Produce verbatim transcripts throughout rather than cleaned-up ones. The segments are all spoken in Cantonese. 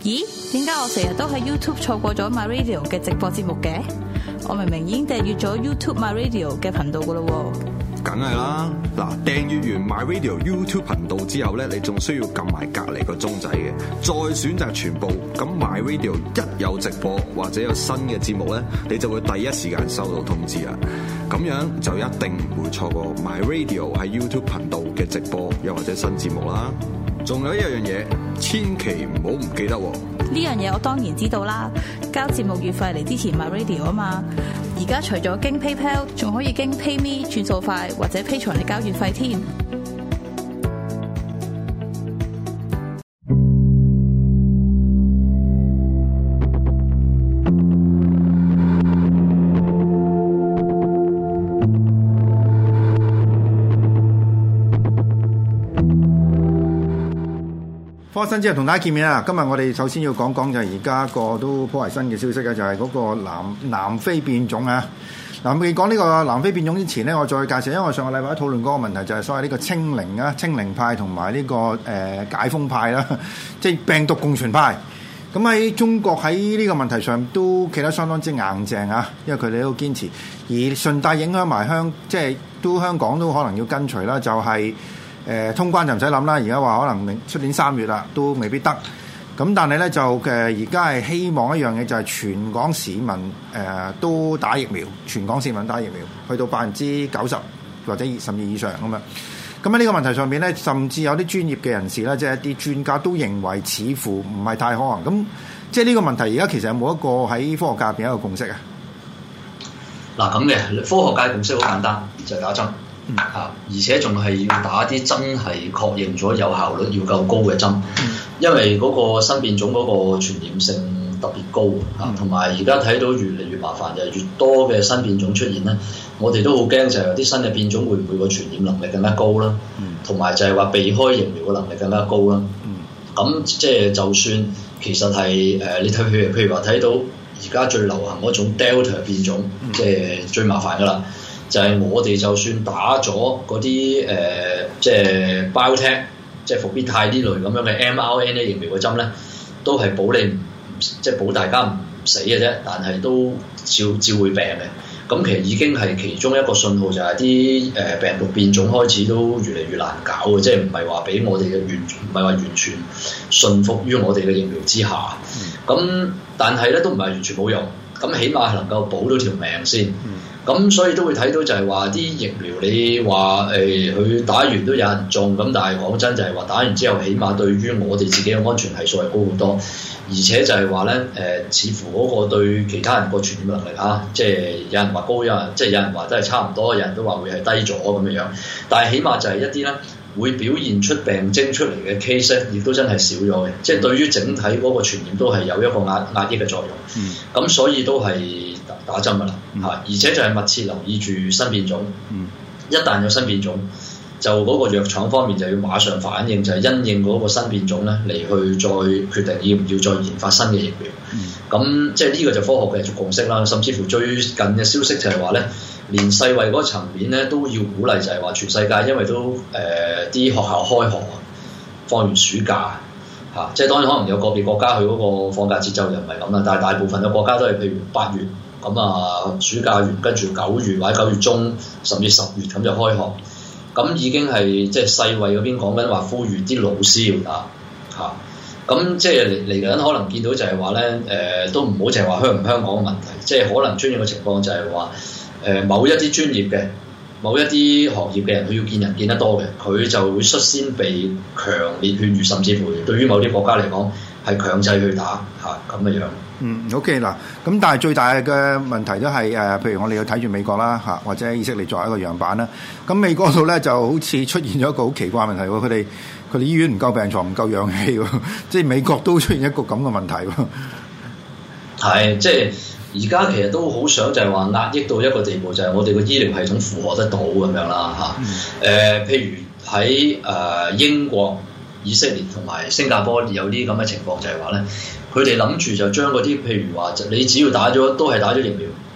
咦？點解我成日都喺 YouTube 錯過咗 My Radio 嘅直播節目嘅？我明明已經訂閱咗 YouTube My Radio 嘅頻道噶咯喎。 梗係啦，嗱，訂閱完 My Radio YouTube 頻道之後咧，你仲需要撳埋隔離個鐘仔嘅，再選擇全部。咁 My Radio 一有直播或者有新嘅節目咧，你就會第一時間收到通知啦。咁樣就一定唔會錯過 My Radio 喺 YouTube 頻道嘅直播又或者新節目啦。仲有一樣嘢，千祈唔好唔記得喎。 呢樣嘢我當然知道啦，交節目月費嚟支持 My Radio 啊嘛。而家除咗經 PayPal， 仲可以經 PayMe 轉數快或者 Patreon嚟交月費添。 科新之後同大家見面啦！今日我哋首先要講講就係而家個都頗為新嘅消息嘅，就係、是、嗰個南南非變種啊！嗱，未講呢個南非變種之前咧，我再介紹，因為我上個禮拜討論嗰個問題就係所謂呢個清零啊、清零派同埋呢個誒、呃、解封派啦，即係病毒共存派。咁喺中國喺呢個問題上都企得相當之硬淨啊，因為佢哋都堅持，而順帶影響埋香，即係都香港都可能要跟隨啦，就係、是。誒、呃、通關就唔使諗啦，而家話可能明出年三月啦，都未必得。咁但係咧就誒而家係希望一樣嘢，就係全港市民誒、呃、都打疫苗，全港市民打疫苗，去到百分之九十或者甚至以上咁樣。咁喺呢個問題上面咧，甚至有啲專業嘅人士咧，即係一啲專家都認為似乎唔係太可能。咁即係呢個問題而家其實有冇一個喺科學界入邊一個共識啊？ 嗱咁嘅科學界共識好簡單，就係、是、打針。嗯、啊！而且仲係要打啲真係確認咗有效率要夠高嘅針，嗯、因為嗰個新變種嗰個傳染性特別高啊，同埋而家睇到越嚟越麻煩，就係越多嘅新變種出現咧，我哋都好驚就係有啲新嘅變種會唔會個傳染能力更加高啦，同埋、嗯、就係話避開疫苗嘅能力更加高啦。咁即係就算其實係誒、呃，你睇譬如譬如話睇到而家最流行嗰種 Delta 變種，即係、嗯、最麻煩噶啦。就係我哋就算打咗嗰啲誒，即係 BioNTech，即係復必泰呢類咁樣嘅 mRNA 疫苗嘅針咧，都係保你唔即係保大家唔死嘅啫，但係都照照會病嘅。咁其實已經係其中一個信號，就係啲誒病毒變種開始都越嚟越難搞嘅，即係唔係話俾我哋嘅完唔係話完全信服於我哋嘅疫苗之下。咁、嗯、但係咧都唔係完全冇用，咁起碼係能夠保到條命先。嗯咁所以都會睇到就係話啲疫苗你話誒佢打完都有人中，咁但係講真就係話打完之後起碼對於我哋自己嘅安全係數係高好多，而且就係話咧誒似乎嗰個對其他人個傳染能力啊，即係有人話高，有人即係有人話都係差唔多，有人都話會係低咗咁樣樣，但係起碼就係一啲咧會表現出病徵出嚟嘅 case 咧，亦都真係少咗嘅，即係對於整體嗰個傳染都係有一個壓壓抑嘅作用。咁、嗯、所以都係打針噶啦嚇，而且就係密切留意住新變種。嗯、一旦有新變種，就嗰個藥廠方面就要馬上反應，就係、是、因應嗰個新變種咧嚟去再決定要唔要再研發新嘅疫苗。咁、嗯、即係呢個就科學嘅共識啦。甚至乎最近嘅消息就係話咧，連世衛嗰個層面咧都要鼓勵，就係話全世界因為都誒啲、呃、學校開學放完暑假嚇、啊，即係當然可能有個別國家佢嗰個放假節奏就唔係咁啦，但係大部分嘅國家都係譬如八月。咁啊，暑假完跟住九月或者九月中，甚至十月咁就開學。咁已經係即係世衛嗰邊講緊話，呼籲啲老師要打嚇。咁即係嚟嚟緊可能見到就係話咧，誒、呃、都唔好淨係話香唔香港嘅問題，即係可能出現嘅情況就係話，誒、呃、某一啲專業嘅、某一啲行業嘅人，佢要見人見得多嘅，佢就會率先被強烈勸喻，甚至乎對於某啲國家嚟講係強制去打嚇咁嘅樣。 嗯 ，OK 嗱，咁但係最大嘅問題都係誒、呃，譬如我哋要睇住美國啦嚇，或者以色列作為一個樣板啦。咁美國度咧就好似出現咗一個好奇怪問題喎，佢哋佢哋醫院唔夠病床，唔夠氧氣喎，即係美國都出現一個咁嘅問題喎。係， 即係而家其實都好想就係話壓抑到一個地步，就係我哋個醫療系統負荷得到咁樣啦嚇。誒、嗯呃，譬如喺誒、呃、英國、以色列同埋新加坡有啲咁嘅情況，就係話咧。佢哋諗住就將嗰啲，譬如話，你只要打咗都係打咗疫苗，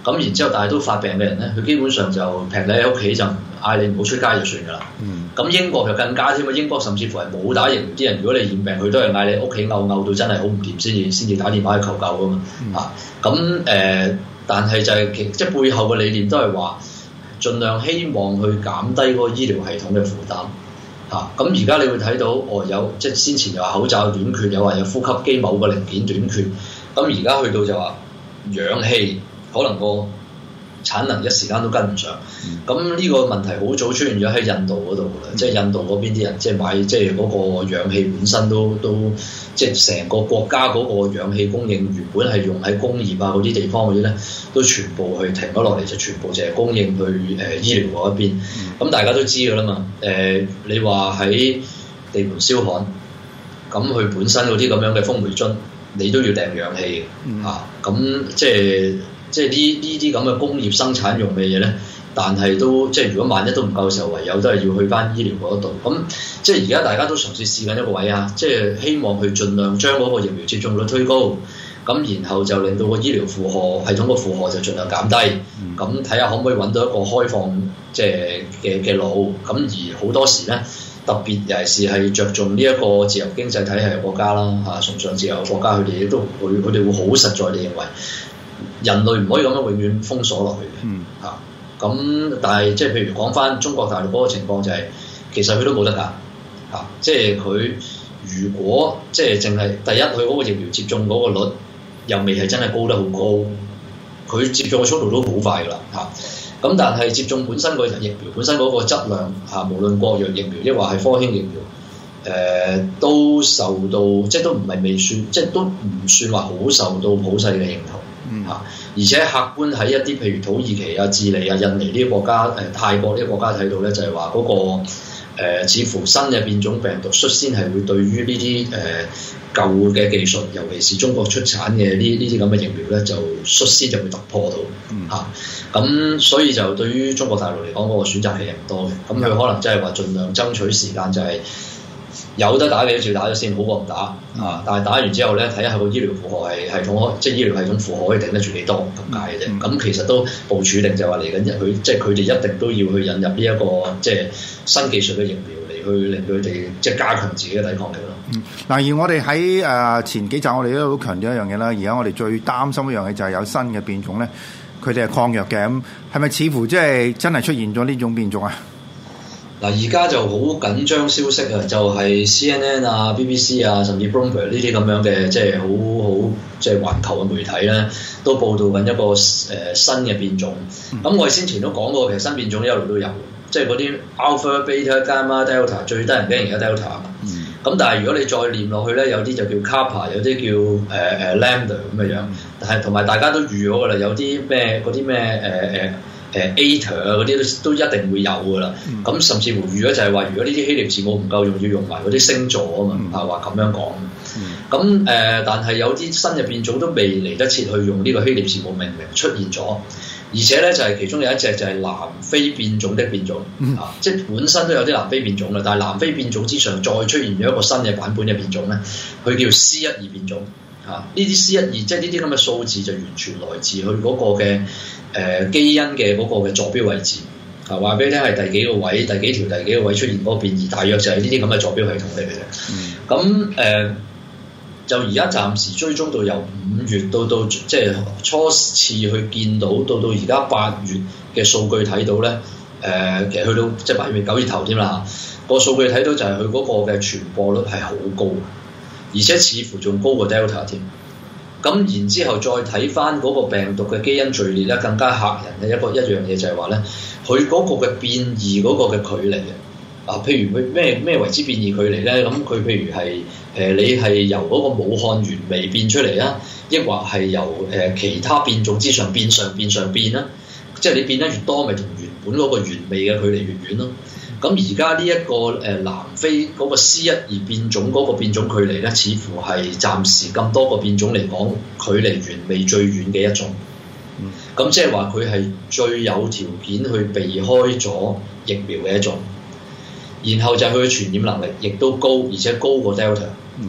咁然之後但係都發病嘅人咧，佢基本上就劈你喺屋企就嗌你唔好出街就算㗎啦。咁、嗯、英國就更加添啊！英國甚至乎係冇打疫苗啲人，如果你染病，佢都係嗌你屋企嘔嘔到真係好唔掂先至先至打電話去求救㗎嘛。嗯、啊，咁誒、呃，但係就係、是、其即係背後嘅理念都係話，盡量希望去減低嗰個醫療系統嘅負擔。嚇，咁而家你會睇到，哦有即係先前又話口罩短缺，又話有呼吸機某個零件短缺，咁而家去到就話氧氣可能個產能一時間都跟唔上，咁呢、嗯、個問題好早出現咗喺印度嗰度啦，嗯、即係印度嗰邊啲人即係買即係嗰個氧氣本身都都即係成個國家嗰個氧氣供應原本係用喺工業啊嗰啲地方嗰啲咧，都全部去停咗落嚟，就全部淨係供應去誒、呃、醫療嗰一邊。咁、嗯、大家都知㗎啦嘛，誒、呃、你話喺地盤燒焊，咁佢本身嗰啲咁樣嘅風煤樽，你都要訂氧氣嘅嚇，咁、嗯啊、即係。即係呢呢啲咁嘅工業生產用嘅嘢咧，但係都即係如果萬一都唔夠嘅時候，唯有都係要去翻醫療嗰度。咁即係而家大家都嘗試試緊一個位啊，即係希望去盡量將嗰個疫苗接種率推高，咁然後就令到個醫療負荷系統個負荷就盡量減低。咁睇下可唔可以揾到一個開放即係嘅嘅路。咁而好多時咧，特別尤其是係着重呢一個自由經濟體系嘅國家啦，嚇崇尚自由嘅國家，佢哋都會佢哋會好實在地認為。人類唔可以咁樣永遠封鎖落去嘅，嚇咁、嗯啊、但係即係譬如講翻中國大陸嗰個情況就係、是，其實佢都冇得㗎，嚇、啊、即係佢如果即係淨係第一佢嗰個疫苗接種嗰個率又未係真係高得好高，佢接種嘅速度都好快㗎啦，嚇、啊、咁但係接種本身個疫苗本身嗰個質量嚇、啊，無論國藥疫苗抑或係科興疫苗，誒、呃、都受到即係都唔係未算，即係都唔算話好受到普世嘅認同。嗯嚇，而且客觀喺一啲譬如土耳其啊、智利啊、印尼呢啲國家，誒、呃、泰國呢啲國家睇到咧，就係話嗰個、呃、似乎新嘅變種病毒率先係會對於呢啲誒舊嘅技術，尤其是中國出產嘅呢呢啲咁嘅疫苗咧，就率先就會突破到嚇。咁、啊、所以就對於中國大陸嚟講，嗰、那個選擇係唔多嘅。咁佢可能即係話盡量爭取時間，就係、是。有得打嘅就打咗先，好過唔打啊！但係打完之後咧，睇下個醫療負荷係系統，即係醫療系統負荷可以頂得住幾多咁解嘅啫。咁、嗯、其實都部署定就話嚟緊日佢，即係佢哋一定都要去引入呢、這、一個即係新技術嘅疫苗嚟去令佢哋即係加強自己嘅抵抗力咯。嗯，嗱， 而我哋喺誒前幾集我哋都好強調一樣嘢啦。而家我哋最擔心一樣嘢就係有新嘅變種咧，佢哋係抗藥嘅。咁係咪似乎即係真係出現咗呢種變種啊？ 嗱，而家就好緊張消息啊，就係、是、C N N 啊、B B C 啊，甚至 Bloomberg 呢啲咁樣嘅，即係好好即係環球嘅媒體咧，都報導緊一個誒、呃、新嘅變種。咁、嗯、我哋先前都講過，其實新變種一路都有，即係嗰啲 Alpha、Beta、Gamma、Delta 最得人驚而家 Delta 啊。咁、嗯、但係如果你再念落去咧，有啲就叫 Kappa， 有啲叫誒誒、呃、Lambda 咁嘅樣。但係同埋大家都預咗㗎啦，有啲咩嗰啲咩誒誒。呃誒 Eta 啊嗰啲都都一定會有㗎啦，咁、嗯、甚至乎預咗就係話，如果呢啲希臘字母唔夠用，要用埋嗰啲星座啊嘛，係話咁樣講。咁誒、嗯呃，但係有啲新嘅變種都未嚟得切去用呢個希臘字母命名出現咗，而且咧就係、是、其中有一隻就係南非變種的變種、嗯、啊，即係本身都有啲南非變種啦，但係南非變種之上再出現咗一個新嘅版本嘅變種咧，佢叫 C 一二變種。啊！呢啲 C 一二即係呢啲咁嘅數字就完全來自佢嗰個嘅誒、呃、基因嘅嗰個嘅坐標位置。啊，話俾你聽係第幾個位、第幾條、第幾個位出現嗰個變異，大約就係呢啲咁嘅坐標系統嚟嘅。咁誒、嗯呃、就而家暫時追蹤到由五月到到即係初次去見到，到到而家八月嘅數據睇到咧，誒、呃、其實去到即係八月九月頭添啦。個數據睇到就係佢嗰個嘅傳播率係好高。而且似乎仲高過 Delta 添，咁然之後再睇翻嗰個病毒嘅基因序列咧，更加嚇人嘅一個一樣嘢就係話咧，佢嗰個嘅變異嗰個嘅距離啊，譬如佢咩咩為之變異距離咧？咁佢譬如係誒、呃、你係由嗰個武漢原味變出嚟啊，抑或係由誒、呃、其他變種之上變上變上變啦，即係你變得越多，咪同原本嗰個原味嘅距離越遠咯。咁而家呢一個誒、呃、南非嗰個 C 一二變種嗰個變種距離咧，似乎係暫時咁多個變種嚟講，距離原味最遠嘅一種。咁、嗯、即係話佢係最有條件去避開咗疫苗嘅一種。然後就係佢嘅傳染能力亦都高，而且高過 Delta。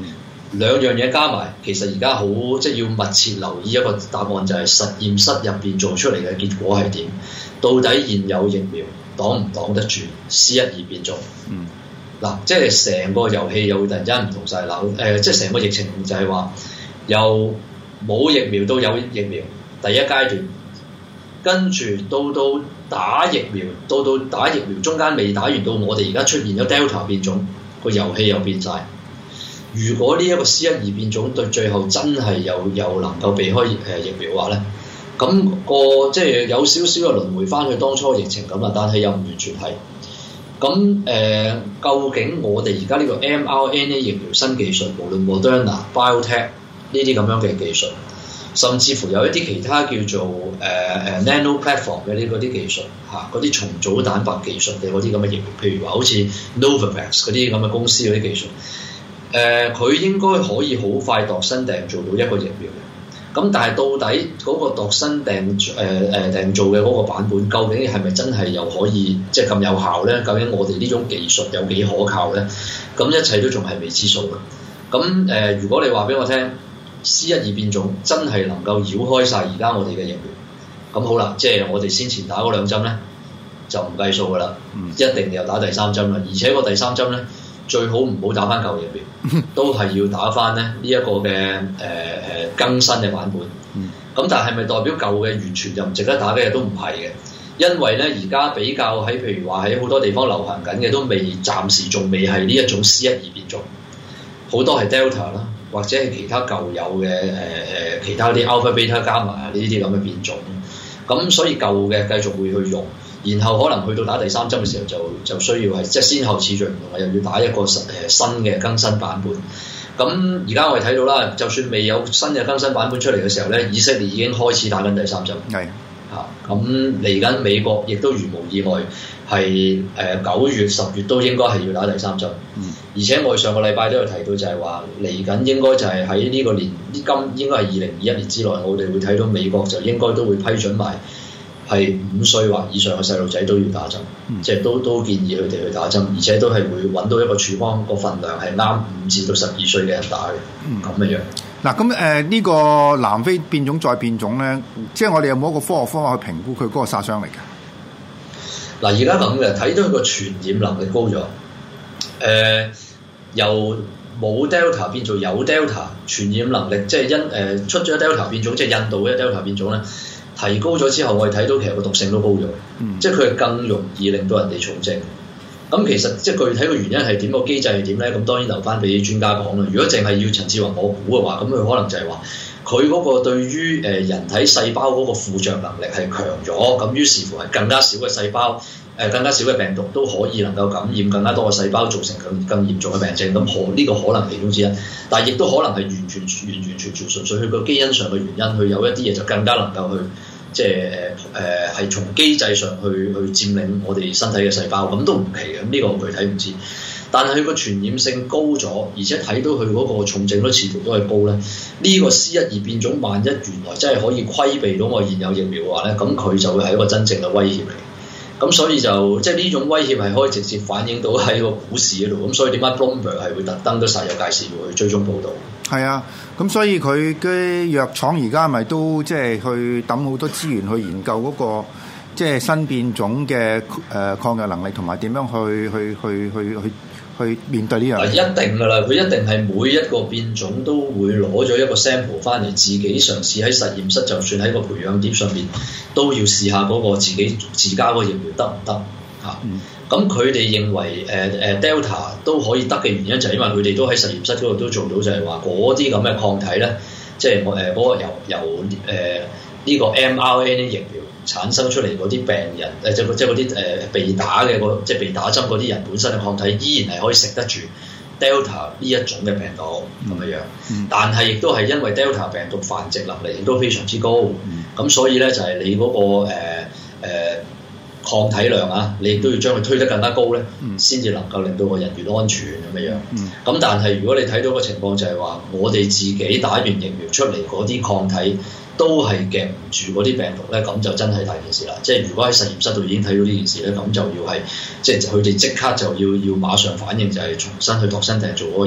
兩樣嘢加埋，其實而家好即係要密切留意一個答案，就係實驗室入邊做出嚟嘅結果係點？到底現有疫苗擋唔擋得住 C 一二變種？嗯，嗱，即係成個遊戲又會突然間唔同晒啦。誒、呃，即係成個疫情就係話由冇疫苗到有疫苗第一階段，跟住到到打疫苗，到到打疫苗中間未打完，到我哋而家出現咗 Delta 變種，個遊戲又變晒。如果呢一個 C 一二變種對最後真係又又能夠避開誒疫苗嘅話咧，咁、那個即係有少少嘅輪迴翻去當初疫情咁啦，但係又唔完全係。咁誒、呃，究竟我哋而家呢個 mRNA 疫苗新技術，無論 Moderna、BioNTech 呢啲咁樣嘅技術，甚至乎有一啲其他叫做誒誒、呃、Nano Platform 嘅呢嗰啲技術嚇，嗰啲重組蛋白技術嘅嗰啲咁嘅疫苗，譬如話好似 Novavax 嗰啲咁嘅公司嗰啲技術。誒佢、呃、應該可以好快度身訂做到一個疫苗嘅，咁但係到底嗰個度身訂誒誒訂做嘅嗰個版本，究竟係咪真係又可以即係咁有效咧？究竟我哋呢種技術有幾可靠咧？咁一切都仲係未知數嘅。咁誒、呃，如果你話俾我聽 C 一二變種真係能夠繞開晒而家我哋嘅疫苗，咁好啦，即係我哋先前打嗰兩針咧就唔計數㗎啦，嗯、一定又打第三針啦，而且個第三針咧。最好唔好打翻舊疫苗，都係要打翻咧呢一個嘅誒誒更新嘅版本。咁但係咪代表舊嘅完全就唔值得打嘅？都唔係嘅，因為咧而家比較喺譬如話喺好多地方流行緊嘅都未暫時仲未係呢一種 C 一二變種，好多係 Delta 啦，或者係其他舊有嘅誒誒其他啲 Alpha Beta 加埋啊呢啲咁嘅變種。咁所以舊嘅繼續會去用。然後可能去到打第三針嘅時候就就需要係即係先後次序唔同，又要打一個誒新嘅更新版本。咁而家我哋睇到啦，就算未有新嘅更新版本出嚟嘅時候咧，以色列已經開始打緊第三針。係嚇的，咁嚟緊美國亦都如無意外係誒九月十月都應該係要打第三針。嗯，而且我哋上個禮拜都有提到就係話嚟緊應該就係喺呢個年今應該係二零二一年之內，我哋會睇到美國就應該都會批准埋。係五歲或以上嘅細路仔都要打針，嗯、即係都都建議佢哋去打針，而且都係會揾到一個處方個份量係啱五至到十二歲嘅人打嘅，咁嘅樣。嗱，咁誒呢個南非變種再變種咧，即係我哋有冇一個科學方法去評估佢嗰個殺傷力嘅？嗱，而家咁嘅睇到佢個傳染能力高咗，誒、呃、由冇 Delta 變做有 Delta 傳染能力，即係因誒、呃、出咗 Delta 變種，即係印度嘅 Delta 變種咧。提高咗之後，我哋睇到其實個毒性都高咗，嗯、即係佢係更容易令到人哋重症。咁其實即係具體個原因係點，個機制係點咧？咁當然留翻俾專家講啦。如果淨係要陳志宏我估嘅話，咁佢可能就係話佢嗰個對於誒人體細胞嗰個附着能力係強咗，咁於是乎係更加少嘅細胞。誒更加少嘅病毒都可以能夠感染更加多嘅細胞，造成更更嚴重嘅病症。咁可呢個可能其中之一，但係亦都可能係完全完完全全純粹佢個基因上嘅原因，佢有一啲嘢就更加能夠去即係誒誒係從機制上去去佔領我哋身體嘅細胞，咁都唔奇嘅。咁呢個我具體唔知，但係佢個傳染性高咗，而且睇到佢嗰個重症率似乎都係高咧。呢、這個 C 一二變種萬一原來真係可以規避到我現有疫苗嘅話咧，咁佢就會係一個真正嘅威脅嚟。咁所以就即係呢種威脅係可以直接反映到喺個股市嗰度，咁所以點解 Bloomberg 係會特登都煞有介事會去追蹤報導？係啊，咁所以佢嘅藥廠而家咪都即係去抌好多資源去研究嗰個即係新變種嘅誒抗藥能力，同埋點樣去去去去去去面對呢樣嘢？一定㗎啦，佢一定係每一個變種都會攞咗一個 sample 翻嚟，自己嘗試喺實驗室，就算喺個培養碟上面都要試下嗰個自己自家個疫苗得唔得嚇？咁佢哋認為誒誒、呃、Delta 都可以得嘅原因就係因為佢哋都喺實驗室嗰度都做到，就係話嗰啲咁嘅抗體咧，即係我誒嗰個由由誒呢、呃這個 mRNA 疫苗產生出嚟嗰啲病人誒即係即係嗰啲誒被打嘅個即係被打針嗰啲人本身嘅抗體依然係可以食得住 Delta 呢一種嘅病毒咁樣樣，嗯、但係亦都係因為 Delta 病毒繁殖能力亦都非常之高，咁、嗯、所以咧就係、是、你嗰、那個誒誒、呃呃、抗體量啊，你亦都要將佢推得更加高咧，先至、嗯、能夠令到個人越安全咁樣樣。咁、嗯、但係如果你睇到個情況就係話，我哋自己打完疫苗出嚟嗰啲抗體都係夾唔住嗰啲病毒咧，咁就真係大件事啦。即係如果喺實驗室度已經睇到呢件事咧，咁就要係即係佢哋即刻就要要馬上反應，就係重新去度身訂做嗰個疫苗。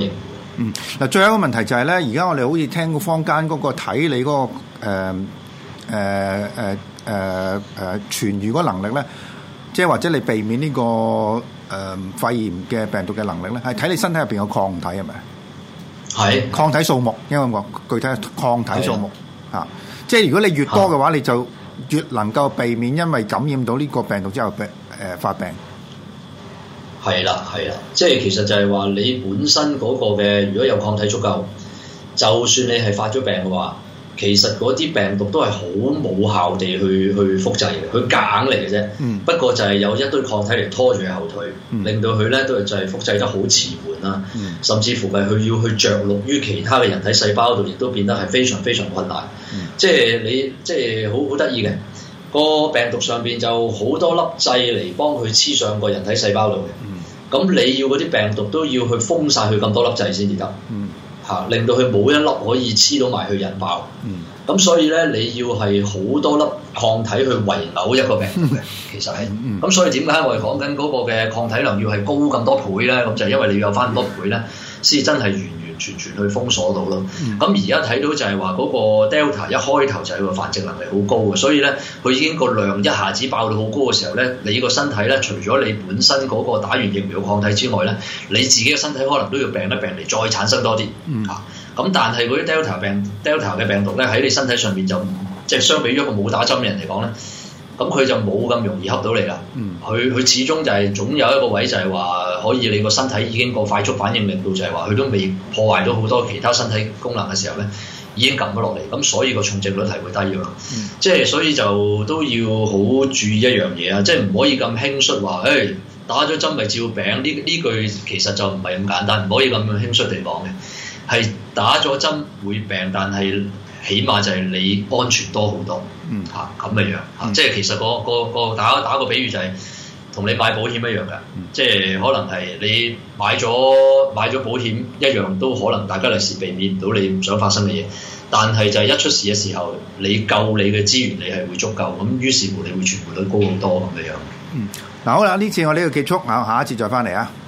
嗯，嗱，最後一個問題就係咧，而家我哋好似聽個坊間嗰個睇你嗰、嗰個誒誒誒誒誒痊癒嗰能力咧，即係或者你避免呢、呢個誒、呃、肺炎嘅病毒嘅能力咧，係睇你身體入邊有抗體係咪？ 係抗體數目，因為我具體抗體數目嚇、啊，即係如果你越多嘅話，你就越能夠避免因為感染到呢個病毒之後病誒、呃、發病。 係啦，係啦，即係其實就係話你本身嗰個嘅，如果有抗體足夠，就算你係發咗病嘅話，其實嗰啲病毒都係好冇效地去去複製嘅，佢夾硬嚟嘅啫。嗯、不過就係有一堆抗體嚟拖住佢後腿，嗯、令到佢咧都係就係複製得好遲緩啦，嗯、甚至乎係佢要去着陸於其他嘅人體細胞度，亦都變得係非常非常困難。嗯、即係你即係好好得意嘅。個病毒上邊就好多粒掣嚟幫佢黐上個人體細胞度嘅，咁、嗯、你要嗰啲病毒都要去封晒佢咁多粒掣先至得，嚇、嗯啊、令到佢冇一粒可以黐到埋去引爆，咁、嗯、所以咧你要係好多粒抗體去圍毆一個病毒嘅，其實係，咁、嗯嗯、所以點解我哋講緊嗰個嘅抗體量要係高咁多倍咧？咁就係因為你要有翻咁多倍咧，先真係完完全全去封鎖到咯。咁而家睇到就係話嗰個 Delta 一開頭就係個繁殖能力好高嘅，所以咧佢已經個量一下子爆到好高嘅時候咧，你個身體咧除咗你本身嗰個打完疫苗抗體之外咧，你自己嘅身體可能都要病一病嚟再產生多啲嚇。咁、嗯啊、但係嗰啲 Delta 病 Delta 嘅病毒咧喺你身體上面就即係相比於一個冇打針嘅人嚟講咧，咁佢就冇咁容易恰到你啦。佢佢、嗯、始終就係總有一個位就係話可以你個身體已經個快速反應令到就係話佢都未破壞到好多其他身體功能嘅時候咧，已經撳咗落嚟，咁所以個重症率係會低㗎嘛。嗯、即係所以就都要好注意一樣嘢啊！即係唔可以咁輕率話，誒、欸、打咗針咪照病呢？呢句其實就唔係咁簡單，唔可以咁樣輕率地講嘅。係打咗針會病，但係起碼就係你安全多好多。嗯，嚇咁嘅樣嚇，嗯、即係其實個個個打打個比喻就係、是、同你買保險一樣嘅，嗯、即係可能係你買咗買咗保險一樣，都可能大家利是避免唔到你唔想發生嘅嘢，但係就係一出事嘅時候，你夠你嘅資源你係會足夠，咁於是乎你會存活率高好多咁嘅樣。嗯，嗱好啦，呢次我呢個結束，啊下一次再翻嚟啊。